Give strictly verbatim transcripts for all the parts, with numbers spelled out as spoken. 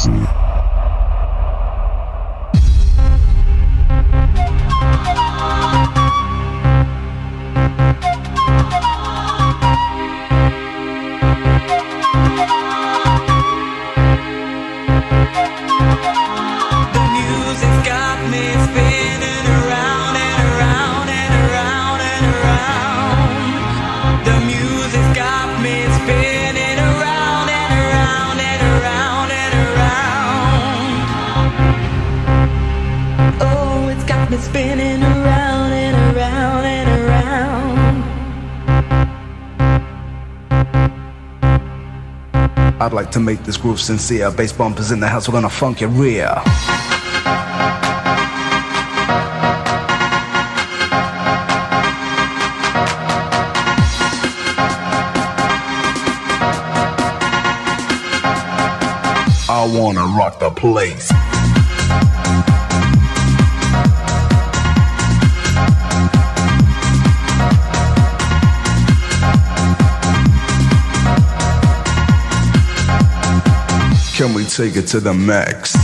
I'd like to make this groove sincere. Bass bumpers in the house, we're gonna funk your rear. I wanna rock the place. Can we take it to the max?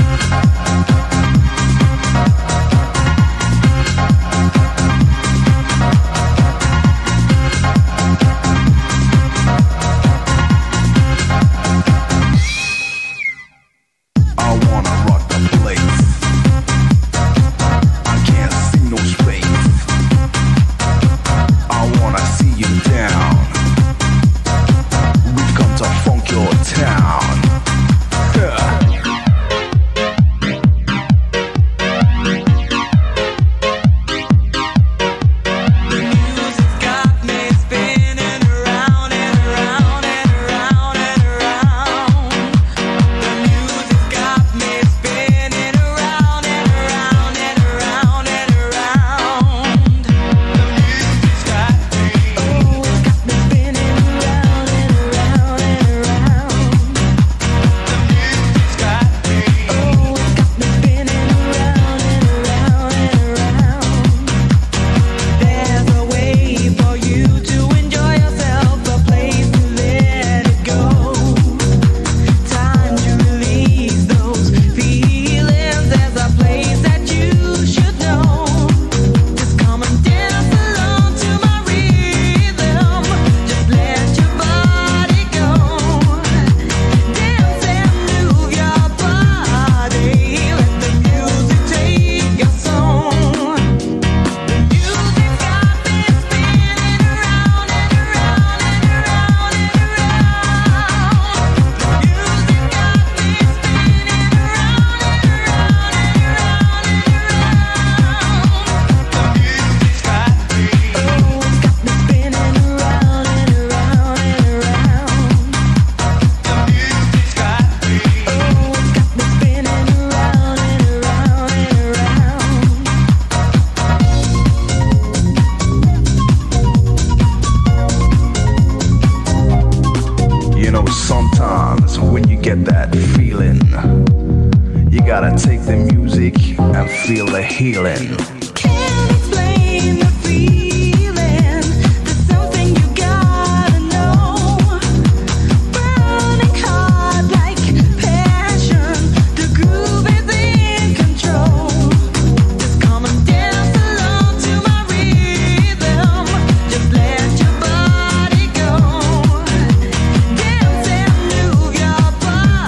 Healing.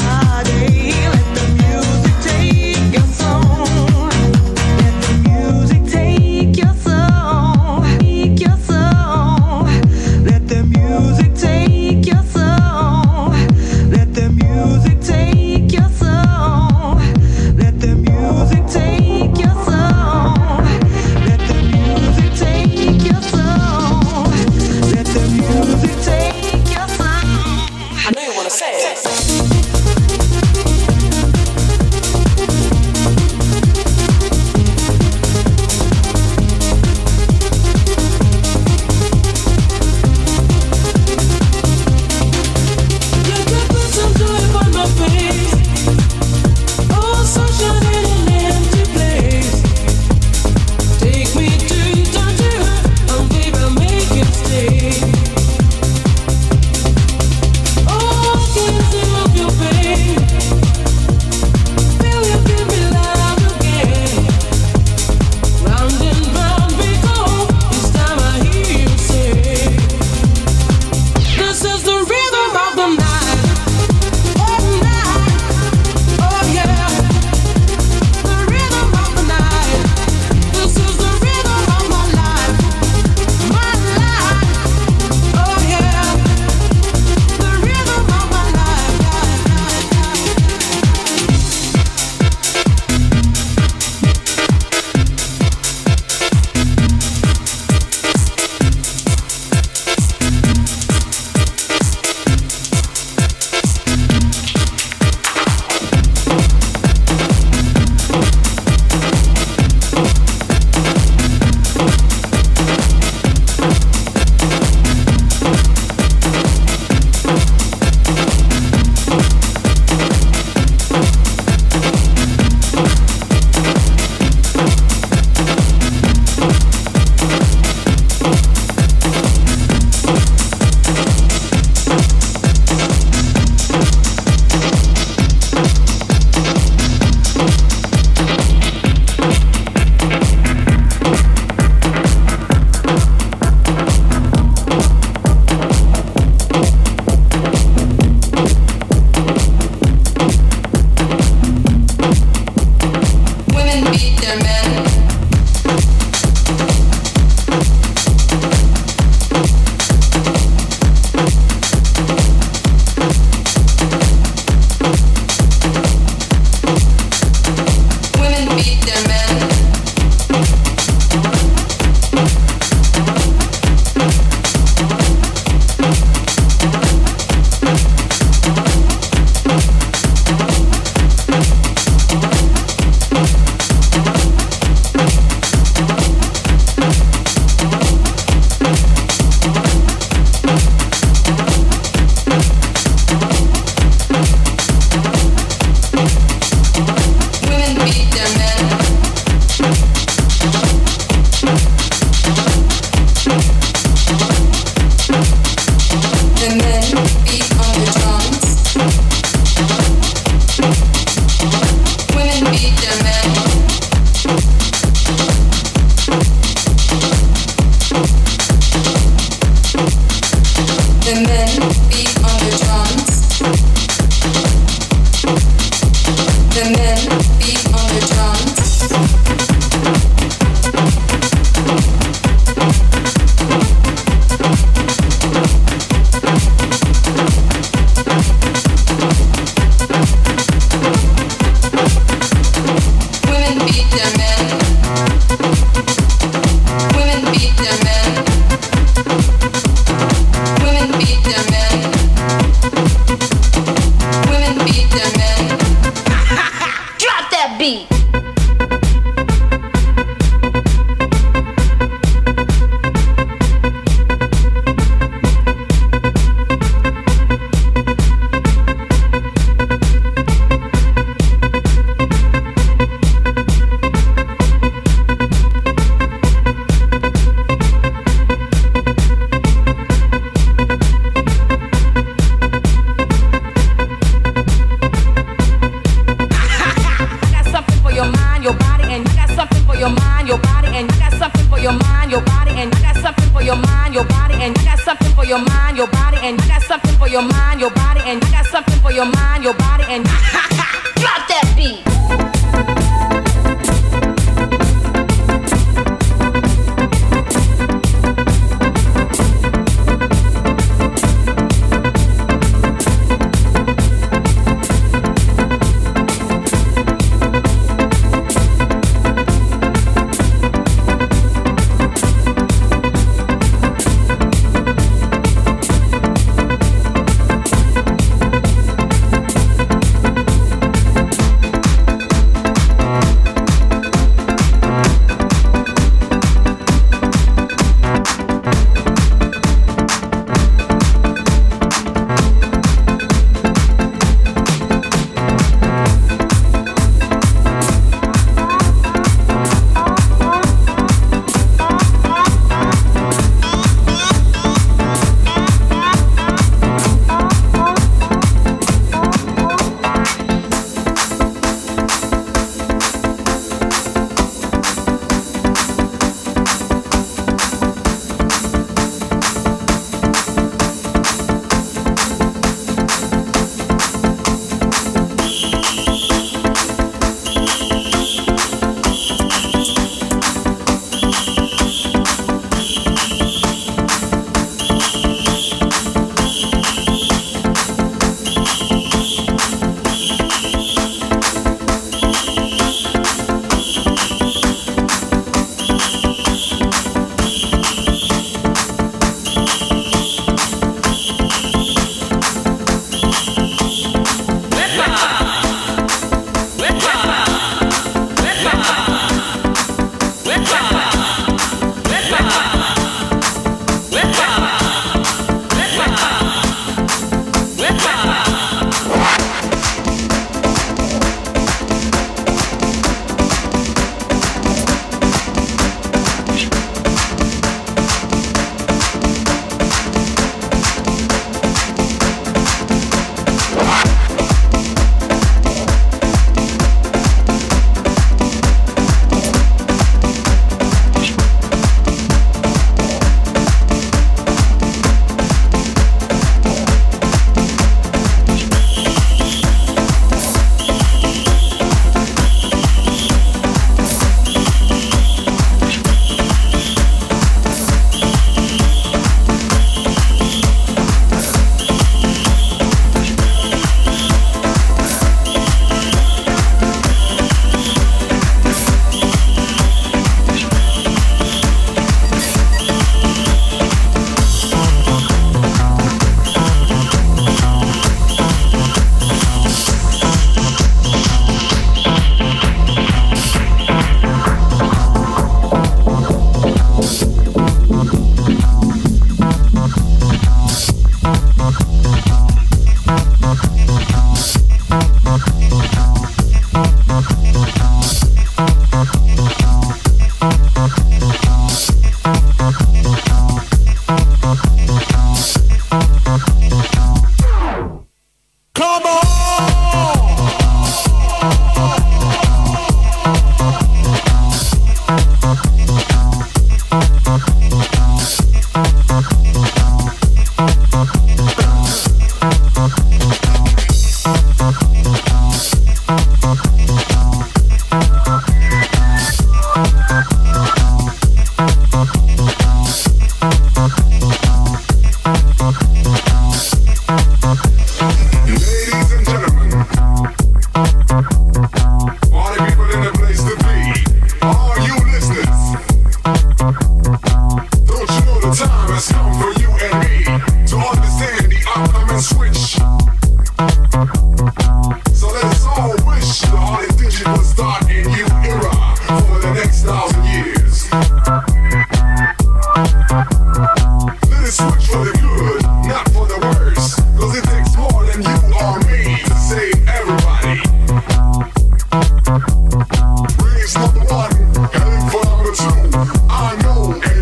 Music mind, your body, and I got something for your mind, your body, and I got something for your mind, your body, and I got something for your mind, your body, and drop that beat.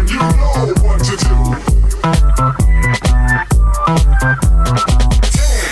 Ten.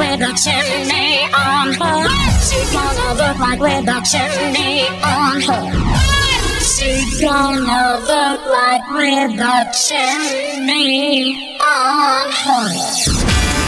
with a chimney on her. She gonna look like with a chimney on her. She gonna look like with a chimney on her.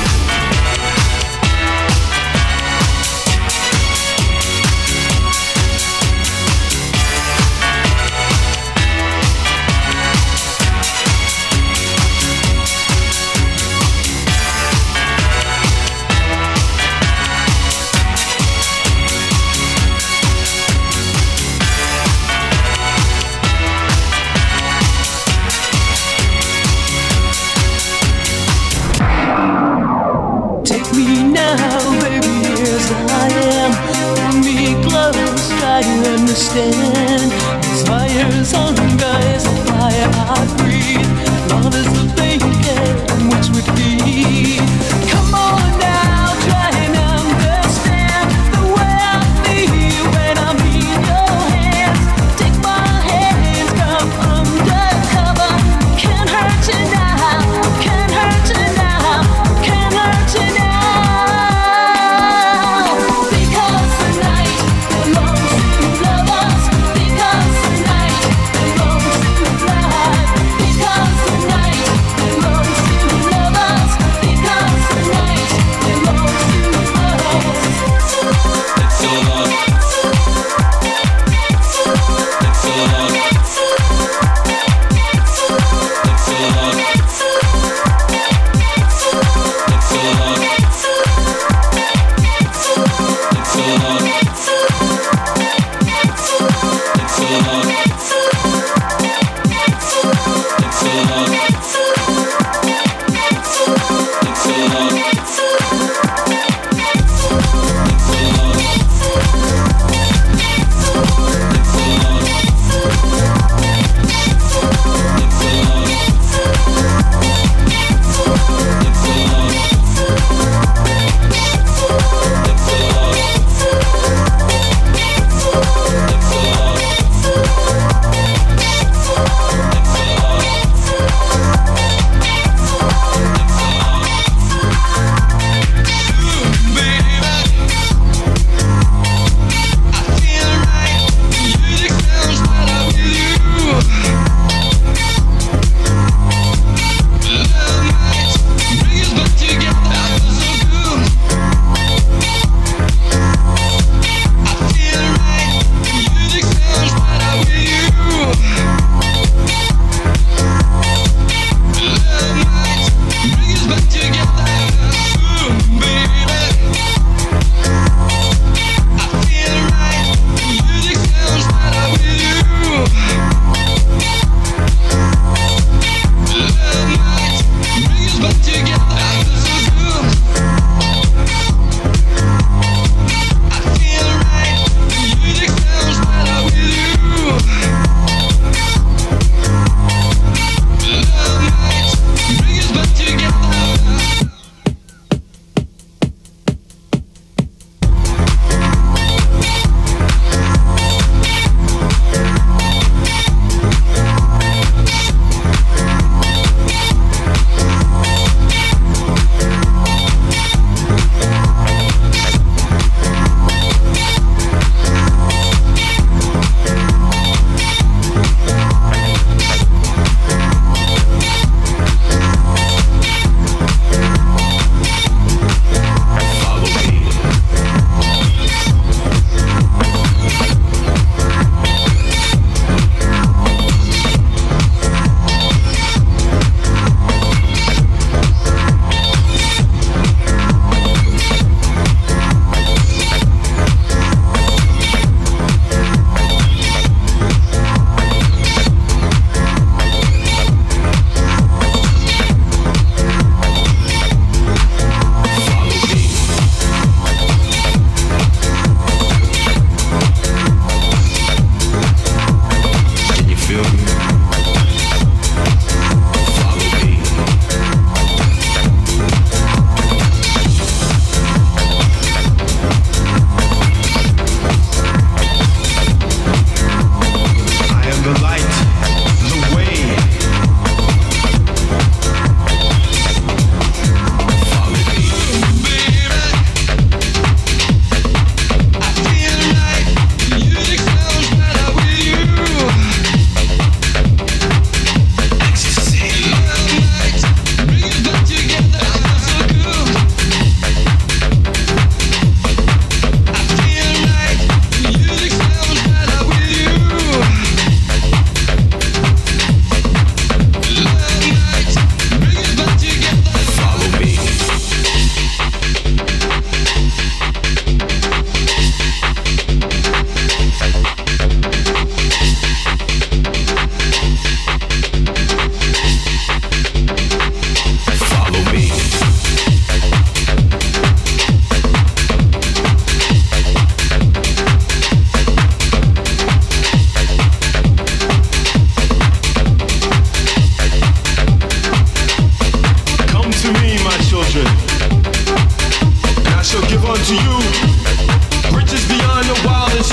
Try to understand. This fire's hunger is a fire I breathe. Love is the blanket in which we feed. Come on now, try and understand the way I feel when I'm in your hands. Take my hands, come undercover. Can't hurt you now, can't hurt you now, can't hurt you now. Because tonight belongs to lovers. Because tonight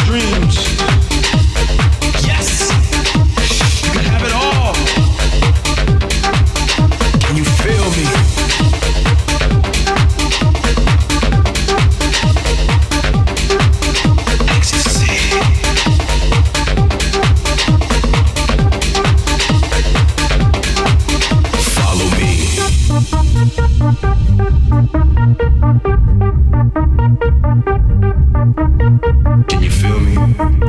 dreams. Yes, you can have it all. Can you feel me? Ecstasy. Follow me. Can you feel me?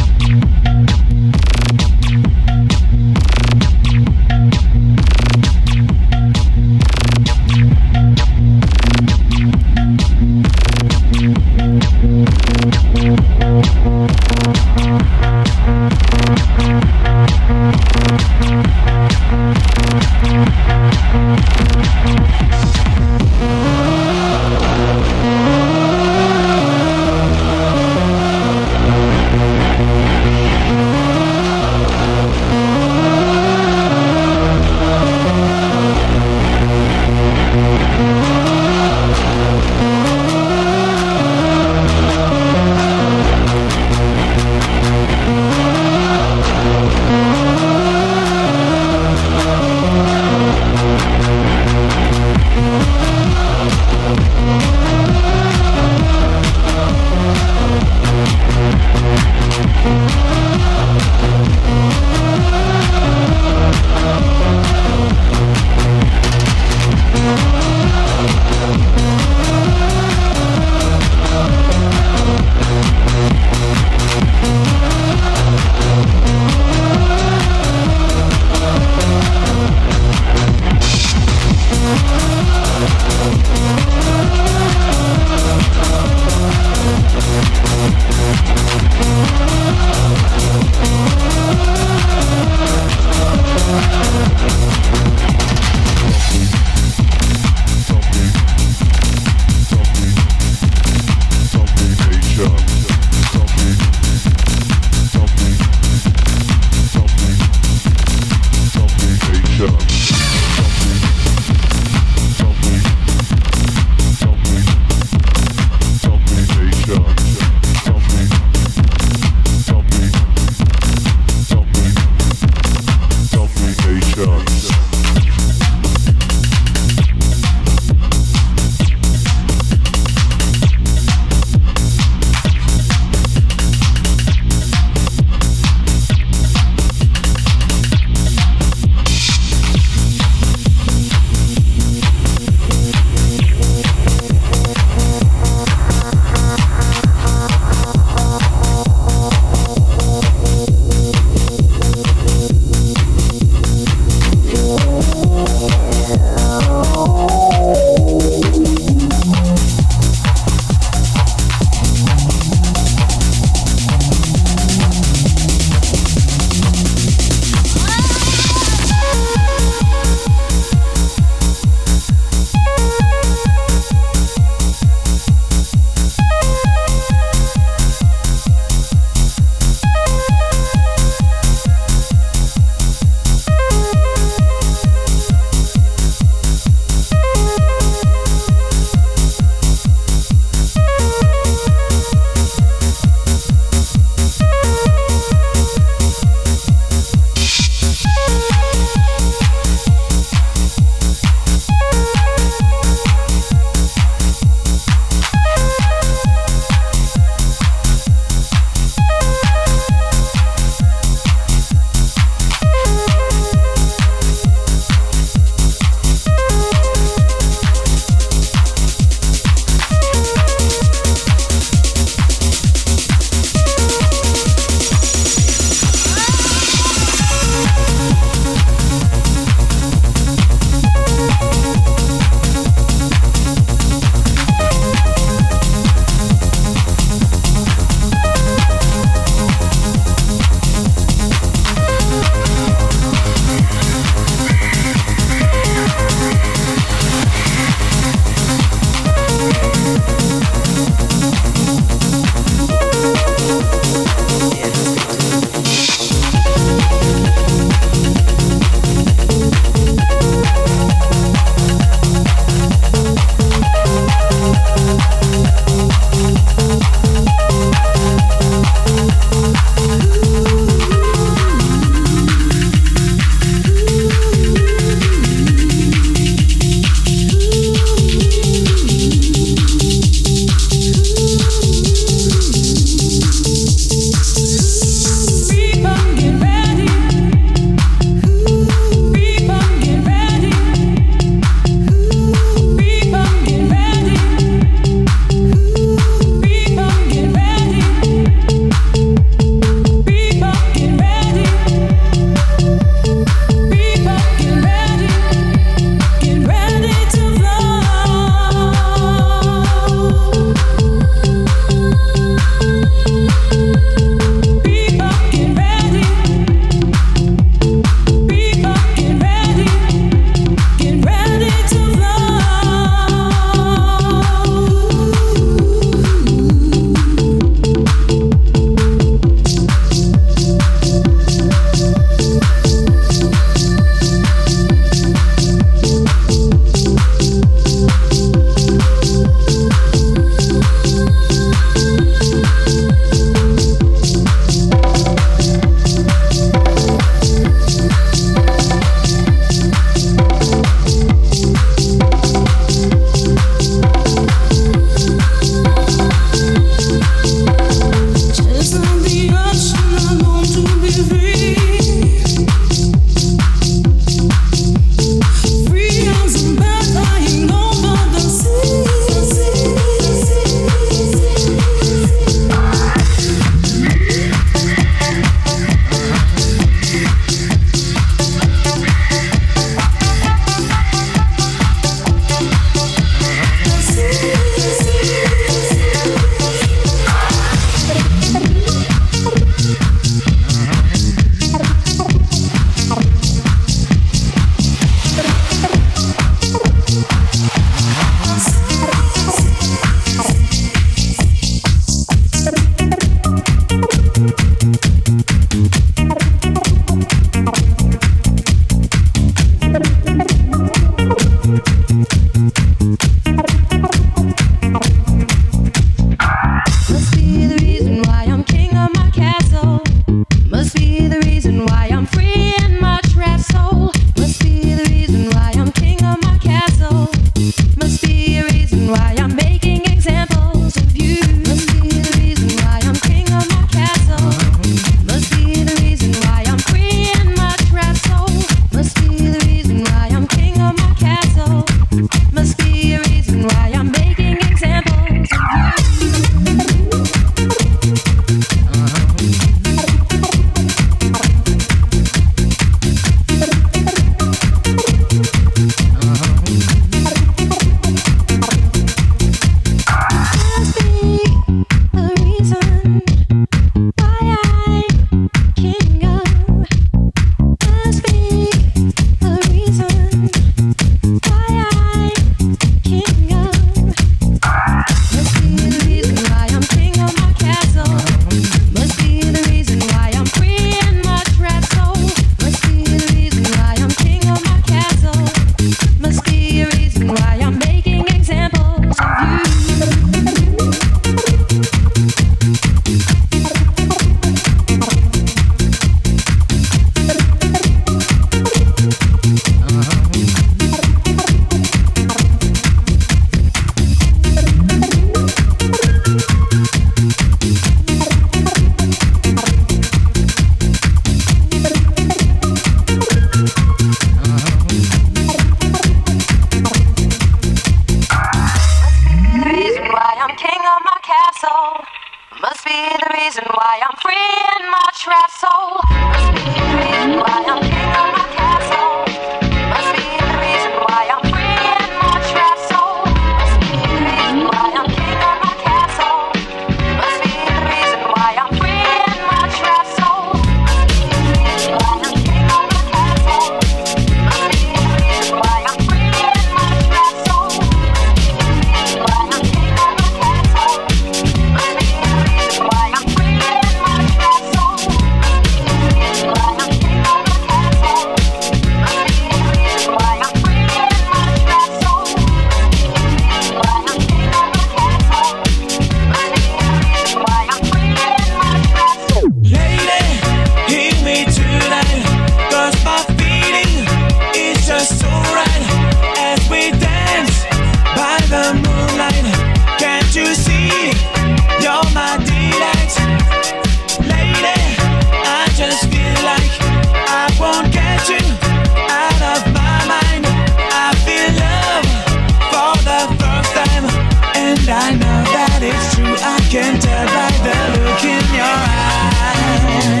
reason why I'm free in my trapped soul. Must be the reason why I'm king of my castle. Must be the reason why I'm free in my trapped soul. Must be the reason why I'm king of my castle. Must be the reason why I'm free in my trapped soul. Must be the reason why I'm king of my castle. Must be the reason why I'm free in my trapped soul. Must be the reason why I'm king of my castle. Must be the reason why I'm free in my trapped soul. Must be the reason why I'm king of my castle. Must be the reason why I'm free in my trapped soul. Must be the reason why I'm king of my castle. Must be the reason why I'm free in my trapped soul. Lady, hear me tonight, 'cause my feeling is just so right as we dance by the moonlight. Can't you see you're my delight? Lady, I just feel like I won't get you out of my mind. I feel love for the first time, and I know that it's true. I can tell by the look in your eyes.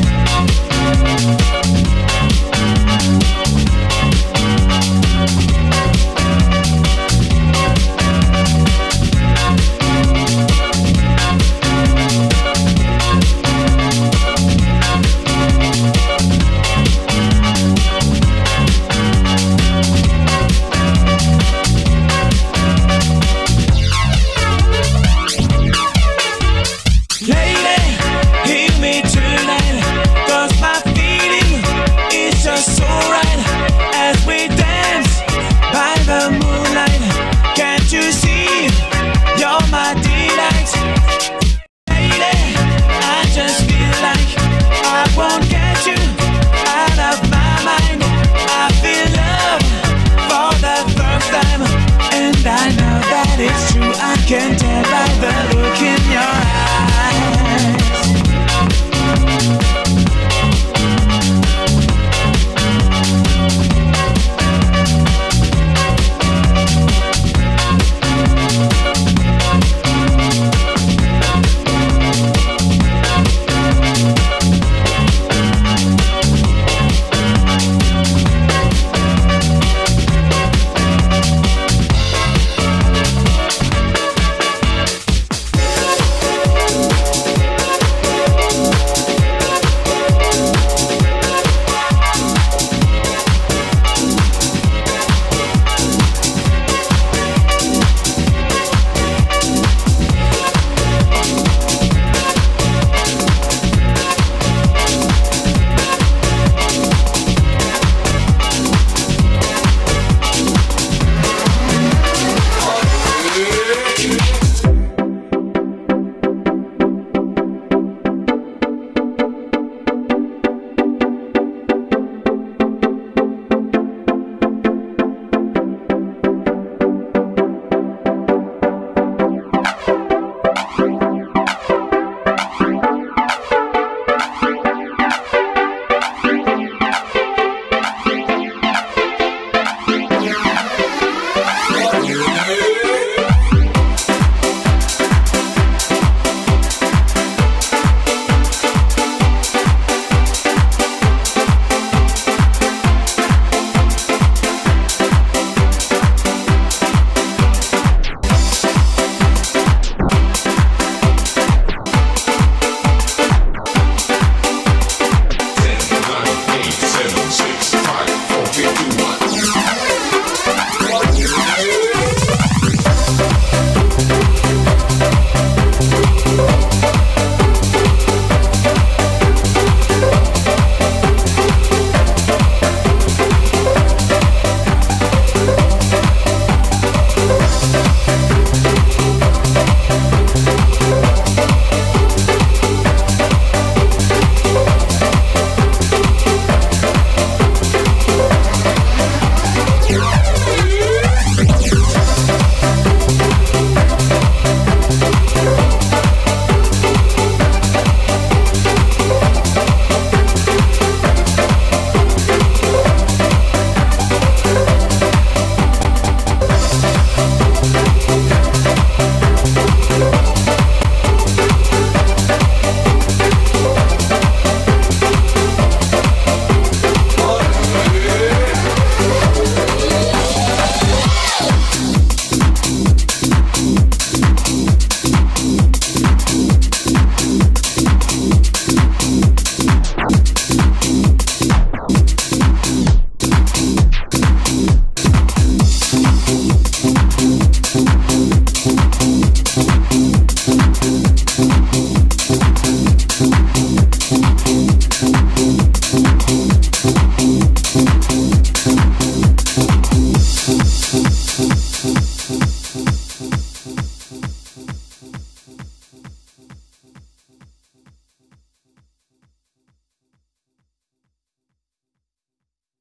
Lady, hear me tonight, 'cause my feeling is just so right as we dance by the moonlight. Can't you see you're my delight? Lady, I just feel like I won't get you out of my mind. I feel love for the first time, and I know that it's true. I can tell by the look in your eyes.